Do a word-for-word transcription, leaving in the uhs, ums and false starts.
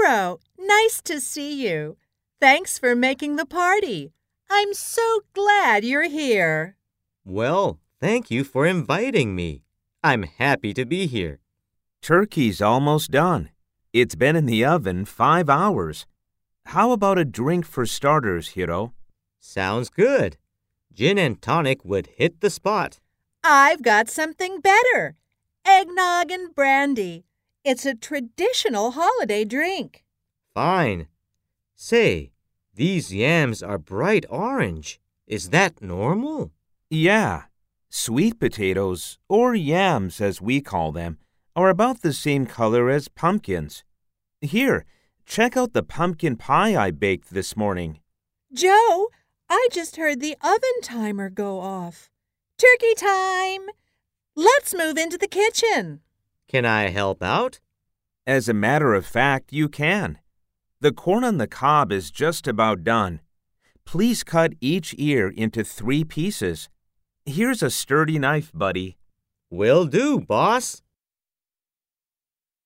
Hiro, nice to see you. Thanks for making the party. I'm so glad you're here. Well, thank you for inviting me. I'm happy to be here. Turkey's almost done. It's been in the oven five hours. How about a drink for starters, Hiro? Sounds good. Gin and tonic would hit the spot. I've got something better. Eggnog and brandy. It's a traditional holiday drink. Fine. Say, these yams are bright orange. Is that normal? Yeah. Sweet potatoes, or yams as we call them, are about the same color as pumpkins. Here, check out the pumpkin pie I baked this morning. Joe, I just heard the oven timer go off. Turkey time! Let's move into the kitchen. Can I help out? As a matter of fact, you can. The corn on the cob is just about done. Please cut each ear into three pieces. Here's a sturdy knife, buddy. Will do, boss.